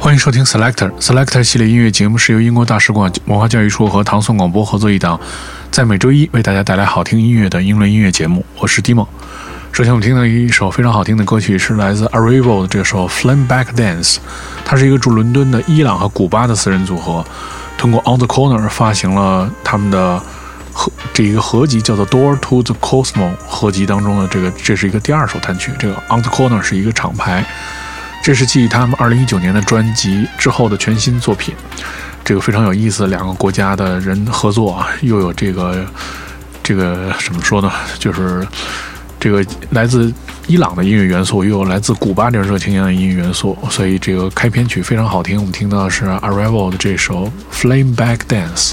欢迎收听 Selector 系列音乐节目，是由英国大使馆文化教育处和唐宋广播合作一档，在每周一为大家带来好听音乐的英伦音乐节目。我是 Dimo。首先我们听到一首非常好听的歌曲，是来自 Arrival 的这首 Flame Back Dance。它是一个驻伦敦的伊朗和古巴的4人组合，通过 On the Corner 发行了他们的这一个合集，叫做 Door to the Cosmos 合集当中的这是一个第2首单曲。这个 On the Corner 是一个厂牌，这是继他们2019年的专辑之后的全新作品。这个非常有意思，2个国家的人合作啊，又有这个怎么说呢，就是这个来自伊朗的音乐元素，又有来自古巴这种热情一样的音乐元素，所以这个开篇曲非常好听。我们听到的是 Arrival 的这首 Flame Back Dance。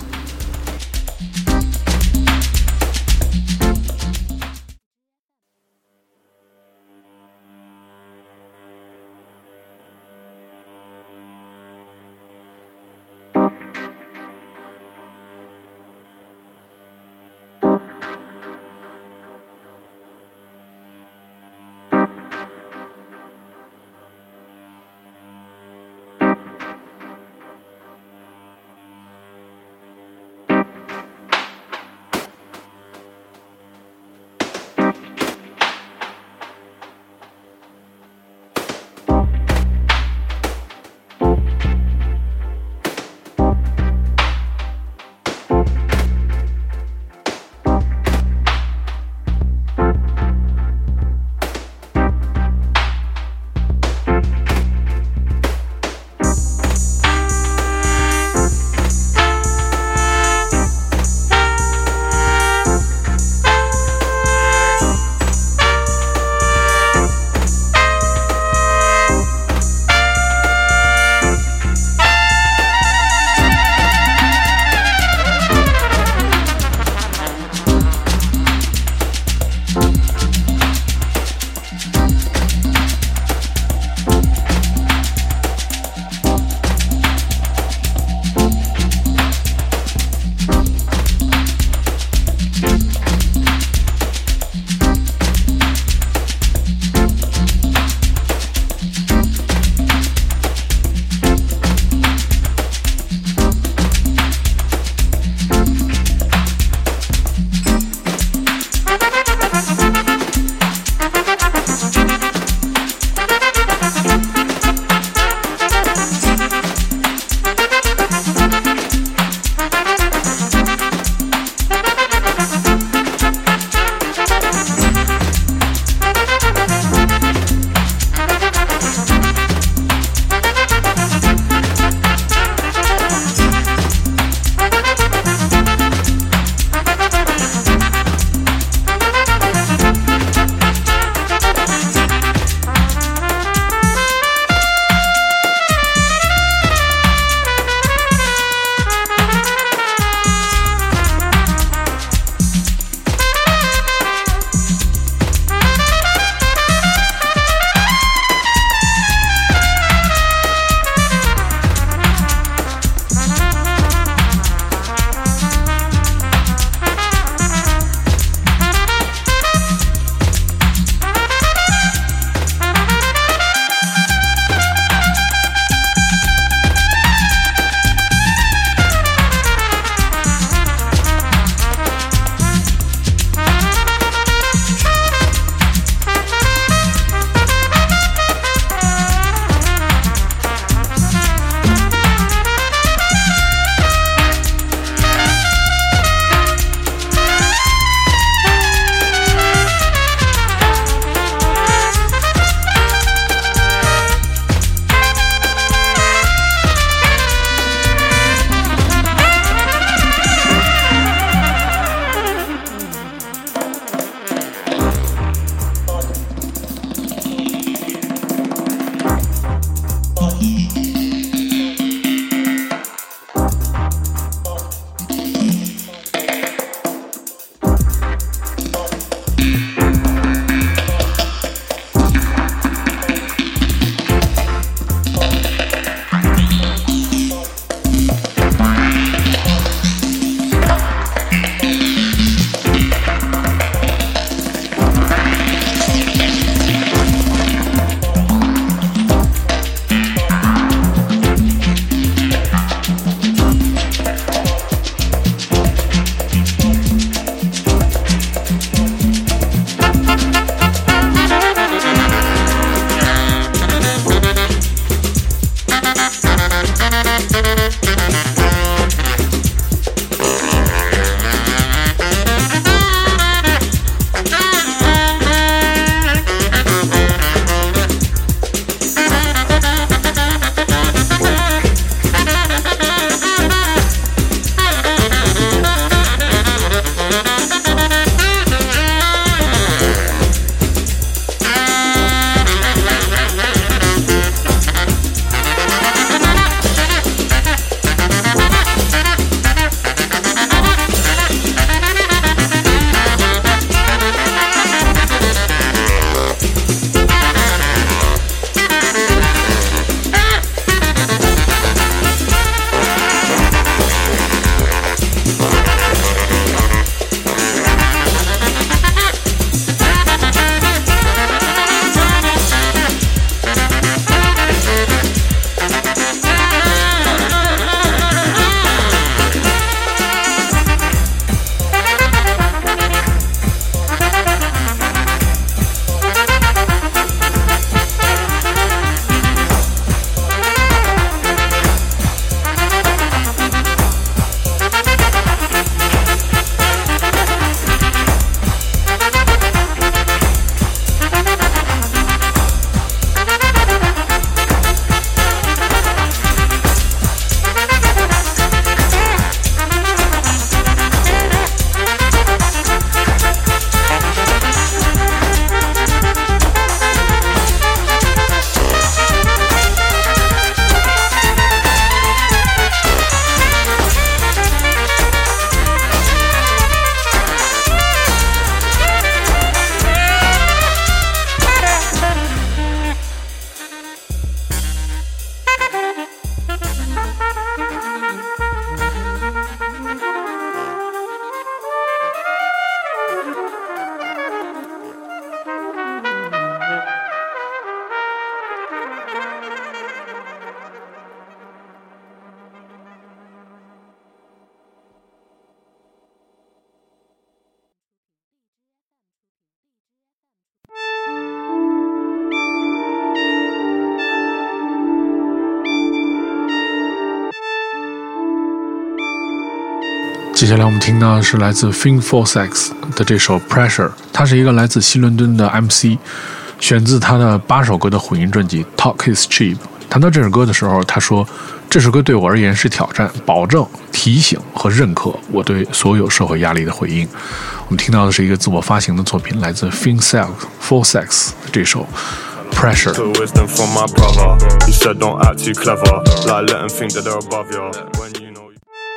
接下来我们听到的是来自 Fin Four-Sex 的这首 Pressure， 他是一个来自西伦敦的 MC， 选自他的8首歌的混音专辑 Talk is Cheap。 谈到这首歌的时候，他说这首歌对我而言是挑战、保证、提醒和认可我对所有社会压力的回应。我们听到的是一个自我发行的作品，来自 Fin Four-Sex 的这首Pressure。 Wisdom from my brother. He said don't act too clever, like let them think that they're above you when you know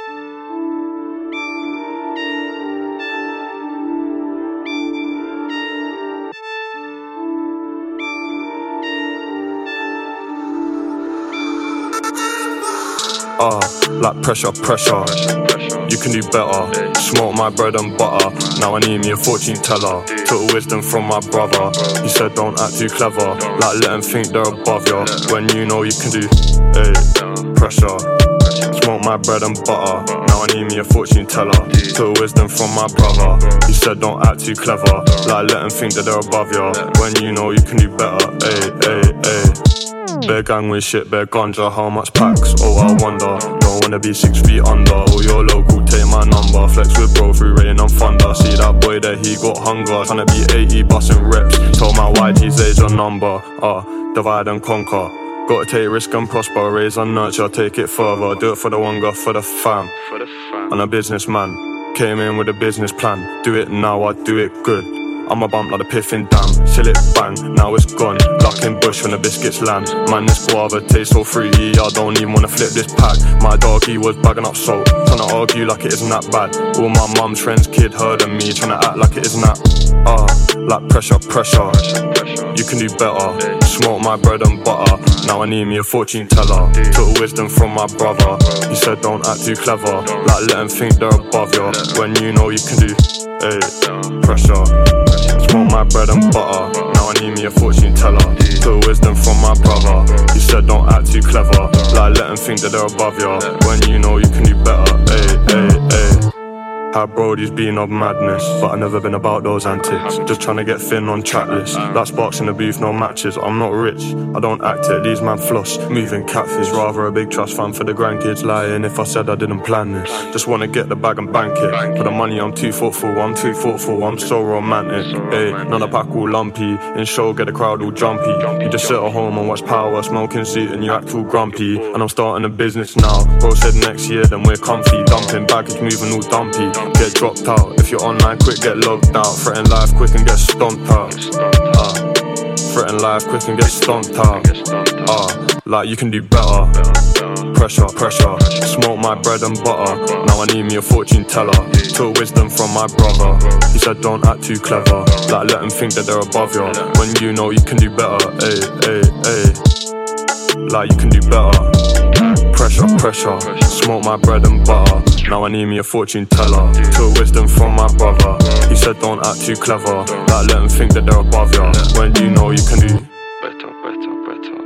like pressure, pressure. You can do better. Smoke my bread and butter. Now I need me a fortune teller. Took wisdom from my brother. He said don't act too clever. Like let them think they're above you when you know you can do. Hey, pressure. Smoke my bread and butter. Now I need me a fortune teller. Took wisdom from my brother. He said don't act too clever. Like let them think that they're above you when you know you can do better. Hey, hey, hey. Bare gang with shit, bare ganja, how much packs? Oh, I wonder. Don't wanna be 6 feet under. Oh, you're local, take my number. Flex with bro through rain and thunder. See that boy there, he got hunger. Tryna be 80, bustin' reps. Told my YG's age a number. Divide and conquer. Gotta take risk and prosper. Raise and nurture, take it further. Do it for the hunger, for the fam. I'm a businessman. Came in with a business plan. Do it now, I do it good. I'm a bump like the piffin dam. Till it bang, now it's gone. Luck in bush when the biscuits land. Man, this guava tastes so fruity, I don't even wanna flip this pack. My dog, he was bagging up salt, tryna argue like it isn't that bad. All my mum's friends' kid heard of me, tryna act like it isn't that. Like pressure, pressure. You can do better. Smoke my bread and butter. Now I need me a fortune teller. Took wisdom from my brother. He said don't act too clever. Like let them think they're above you when you know you can do. Hey, pressure. Smoke my bread and butter. Now I need me a fortune teller. Took wisdom from my brother. He said don't act too clever. Like let them think that they're above you when you know you can do better. Hey, hey, hey. Had Brody's been of madness, but I've never been about those antics. Just trying to get thin on track list. Like sparks in the booth, no matches. I'm not rich, I don't act it, these man floss. Moving catfish, rather a big trust fund for the grandkids. Lying if I said I didn't plan this. Just wanna get the bag and bank it. For the money I'm too thoughtful, I'm so romantic. Hey, none of pack all lumpy. In show get the crowd all jumpy. You just sit at home and watch Power, smoking seat and you act all grumpy. And I'm starting a business now. Bro said next year then we're comfy. Dumping baggage moving all dumpy. Get dropped out. If you're online quick get logged out. Threaten life quick and get stomped out. Threaten life quick and get stomped out. Like you can do better. Pressure, pressure. Smoke my bread and butter. Now I need me a fortune teller. Took wisdom from my brother. He said don't act too clever. Like let them think that they're above you when you know you can do better. Ay, ay, ay. Like you can do better. Pressure, pressure. Smoke my bread and butter. Now I need me a fortune teller. Took wisdom from my brother. He said don't act too clever. Like let them think that they're above you when you know you can do better, better, better.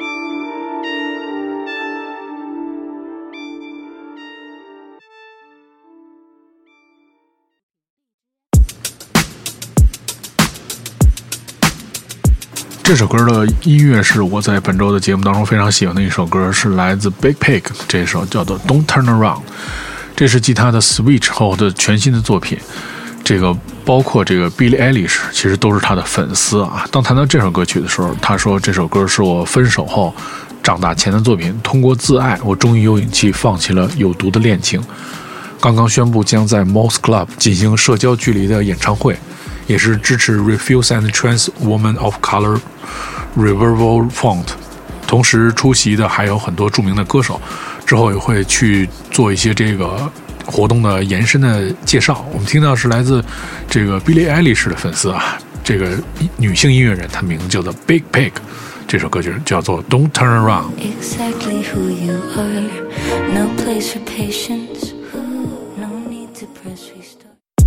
这首歌的音乐是我在本周的节目当中非常喜欢的一首歌，是来自 Big Pig 这首叫做 Don't Turn Around。 这是继他的 Switch 后的全新的作品，这个包括这个 Billie Eilish 其实都是他的粉丝啊。当谈到这首歌曲的时候，他说这首歌是我分手后长大前的作品，通过自爱我终于有勇气放弃了有毒的恋情。刚刚宣布将在 Moss Club 进行社交距离的演唱会，也是支持 Refuse and Trans Women of Color Revival Fund， 同时出席的还有很多著名的歌手，之后也会去做一些这个活动的延伸的介绍。我们听到是来自这个 Billie Eilish 的粉丝啊，这个女性音乐人，她名字叫做 Big Pig， 这首歌曲叫做 Don't Turn Around。 Exactly who you are, no place for patience, no need to press restart.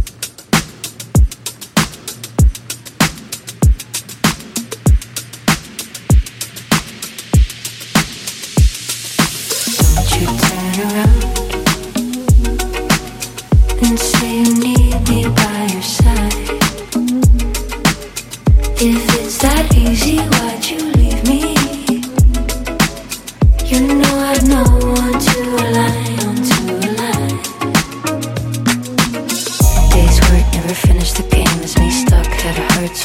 Don't you turn around and say you need me by your side. If it's that easy, why'd you leave me? You know I've no one to rely on to rely.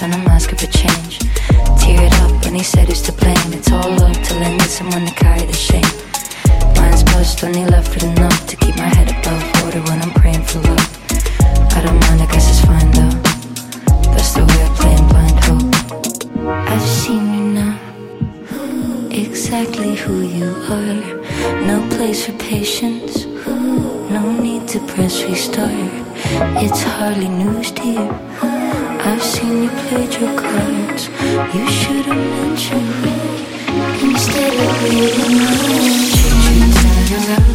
trying to mask up a change. Teared up when he said who's to blame. It's all love till I need someone to carry the shame. Mind's buzzed, only left with enough to keep my head above water when I'm praying for love. I don't mind, I guess it's fine though. That's the way I play in blind hope. I've seen you now, exactly who you are. No place for patience, no need to press restart. It's hardly news to you. I've seen you played your cards. You should have mentioned me instead of leaving me. Turn around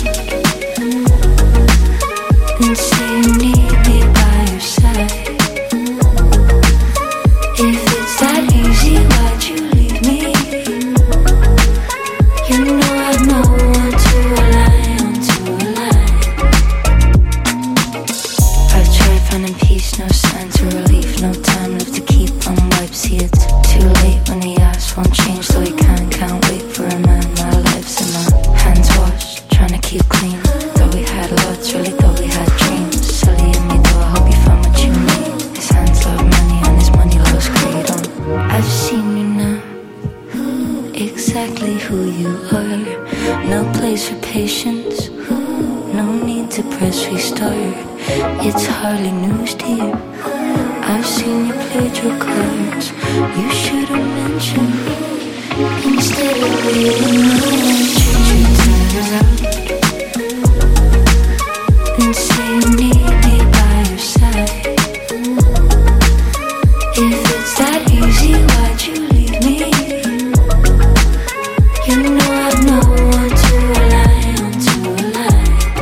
and say you need me by your side. If it's that easy, why'd you leave me? You know I've no one to rely on, to rely. I've tried finding peace, no signs of relief, no time left to keep on wipe. See, it's too late when the ass won't change, though he can't wait for a man. My life's in my hands washed, trying to keep clean. Though we had lots, really thought we had dreams. Silly in me though, I hope you found what you need. His hands love money and his money loves greed. I've seen you now, exactly who you are. No place for patience, no need to press restart. It's hardly news to you. I've seen you played your cards. You should have mentioned me instead of leaving me. Turn around and say you need me by your side. If it's that easy, why'd you leave me? You know I've no one to rely on, to rely.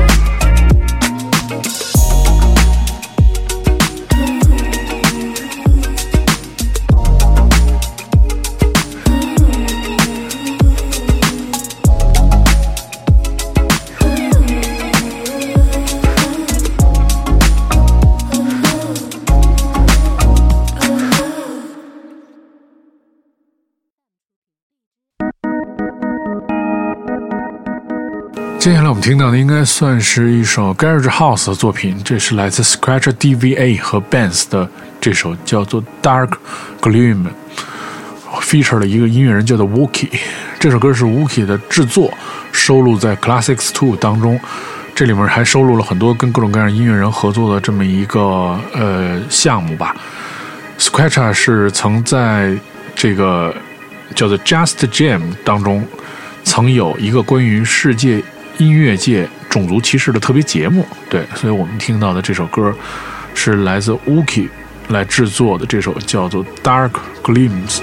接下来我们听到的应该算是一首 Garage House 的作品，这是来自 Scratcher DVA 和 Benz 的这首叫做 Dark Gloom， feature 了一个音乐人叫做 Wookie。 这首歌是 Wookie 的制作，收录在 Classics 2 当中，这里面还收录了很多跟各种各样音乐人合作的这么一个项目吧。 Scratcher 是曾在这个叫做 Just Jam 当中曾有一个关于世界音乐界种族歧视的特别节目，对，所以我们听到的这首歌是来自 Wookie 来制作的，这首叫做 Dark Gleams。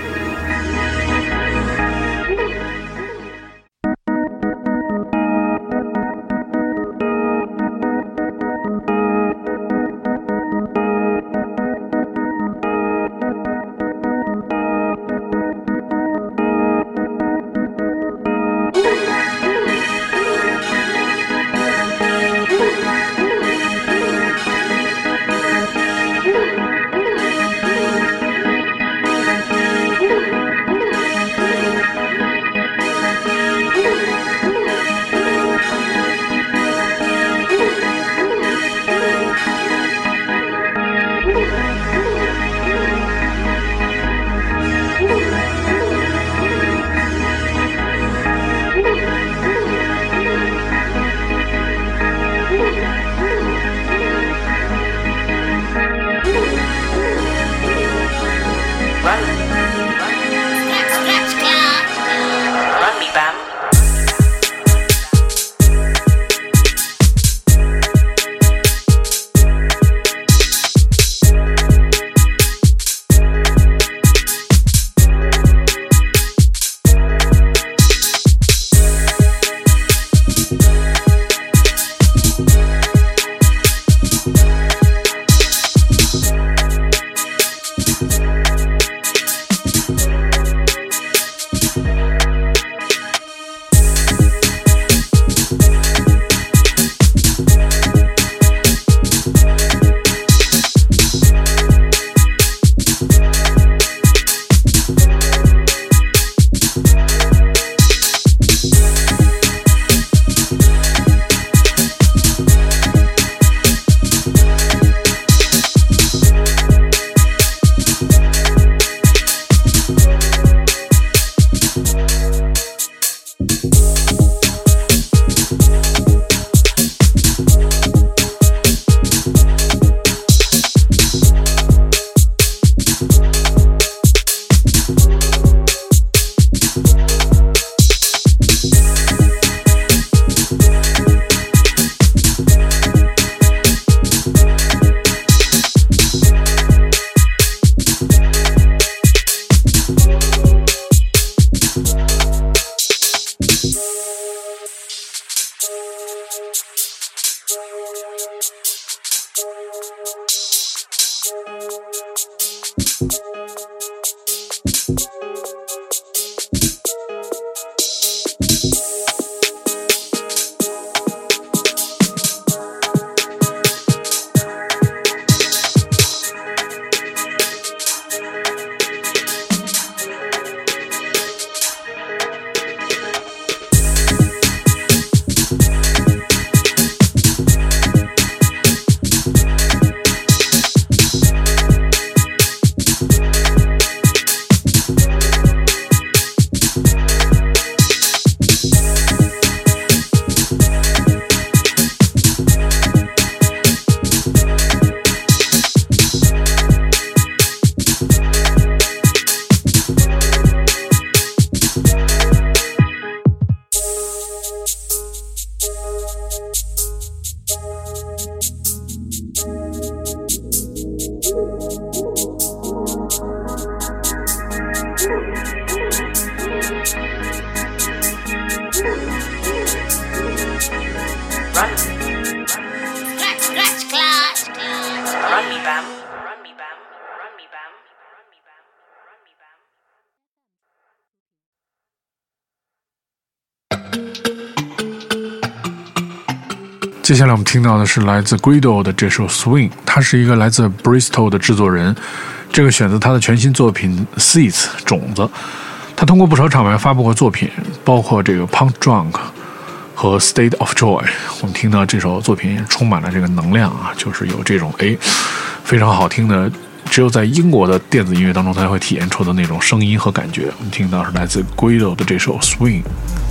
接下来我们听到的是来自 Guido 的这首 Swing， 他是一个来自 Bristol 的制作人，这个选择他的全新作品 Seeds 种子。他通过不少厂牌发布过作品，包括这个 Punk Drunk 和 State of Joy。我们听到这首作品充满了这个能量啊，就是有这种非常好听的，只有在英国的电子音乐当中才会体验出的那种声音和感觉。我们听到是来自 Guido 的这首 Swing。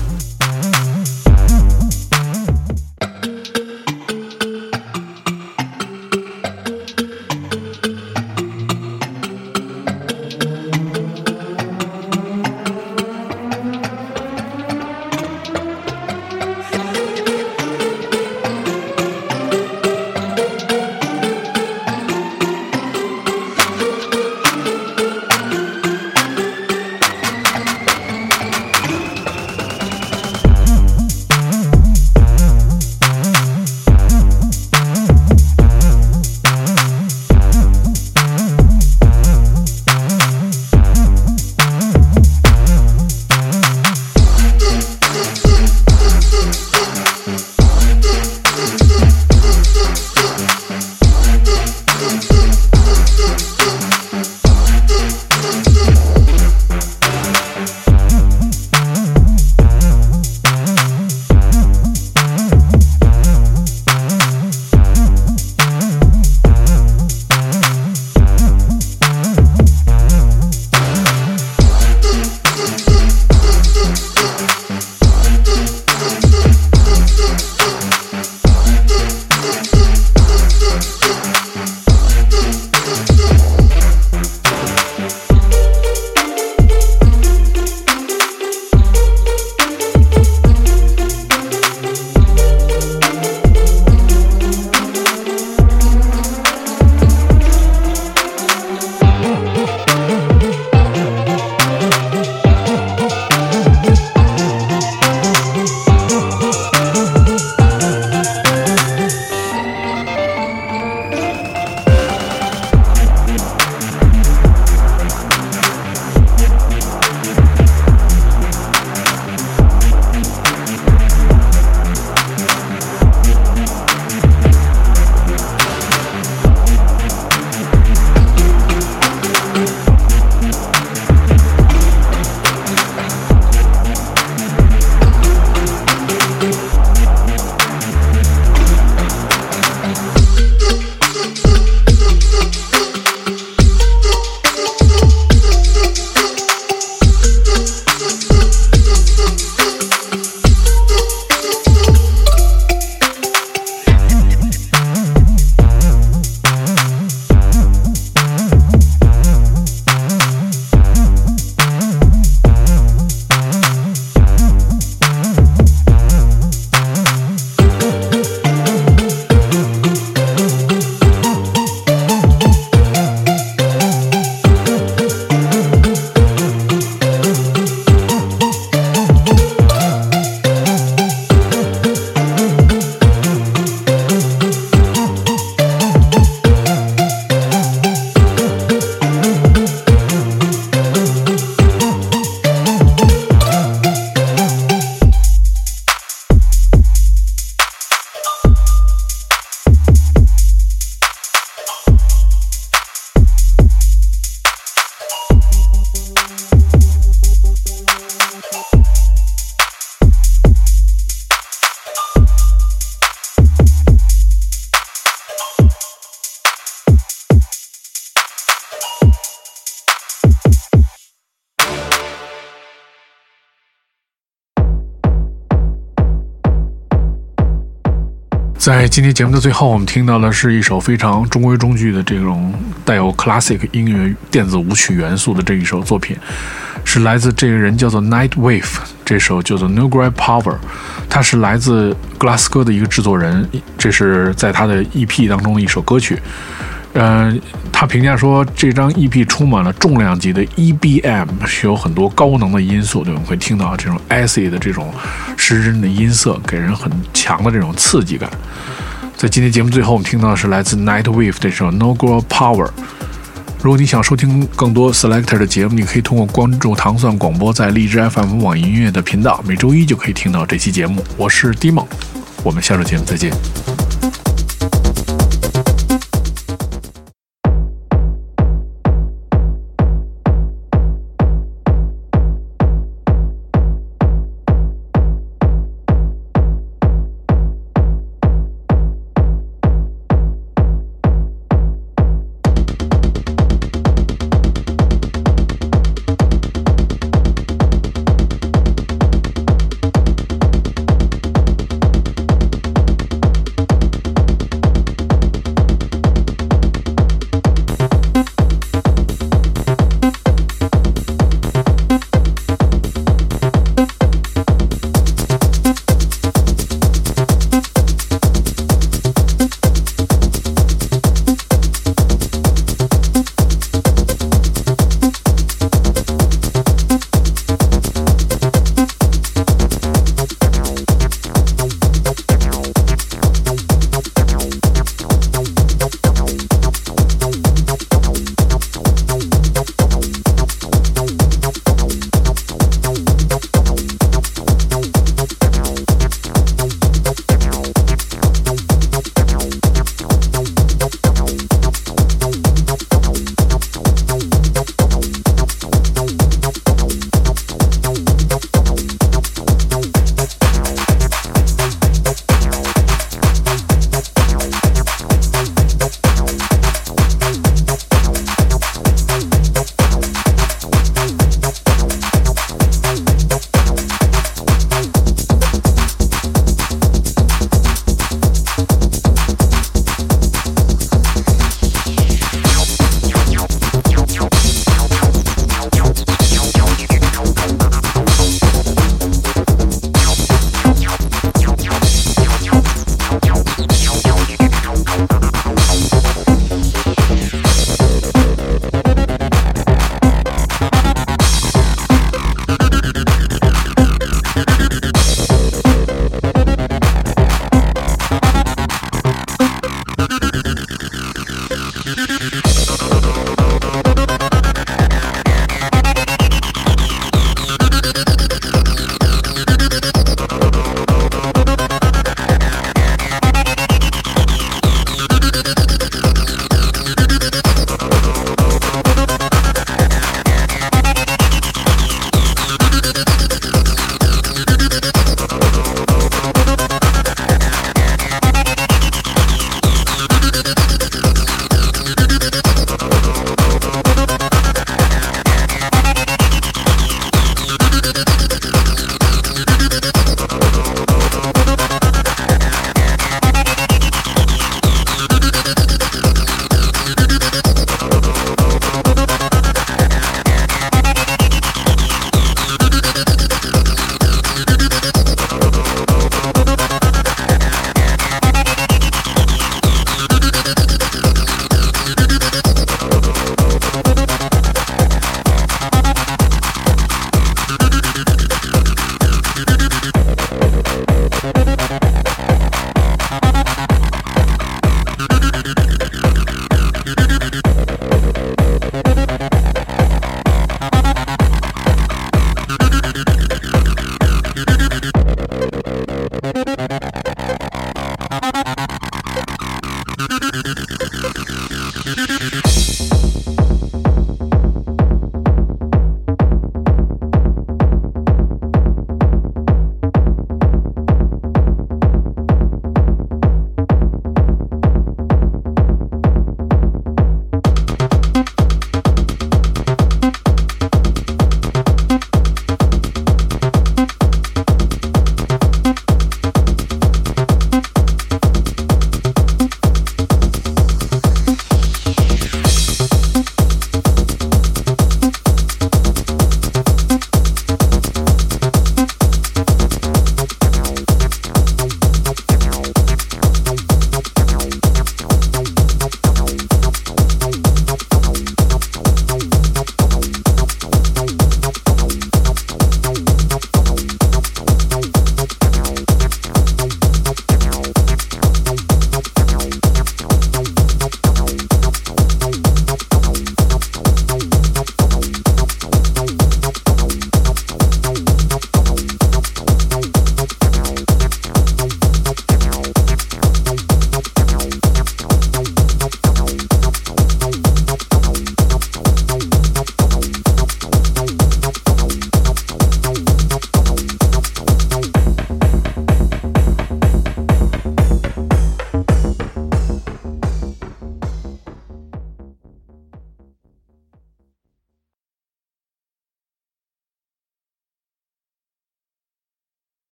在今天节目的最后，我们听到的是一首非常中规中矩的这种带有 classic 音乐电子舞曲元素的这一首作品，是来自这个人叫做 Nightwave， 这首叫做 Nuclear Power， 他是来自格拉斯哥的一个制作人，这是在他的 EP 当中的一首歌曲。他评价说这张 EP 充满了重量级的 EBM， 是有很多高能的因素，对，我们会听到这种 acid 的这种失真的音色，给人很强的这种刺激感。在今天节目最后，我们听到的是来自 Nightwave 这首 No Girl Power。如果你想收听更多 Selector 的节目，你可以通过关注糖蒜广播在荔枝 FM 网易音乐的频道，每周一就可以听到这期节目。我是 Dimon， 我们下周节目再见。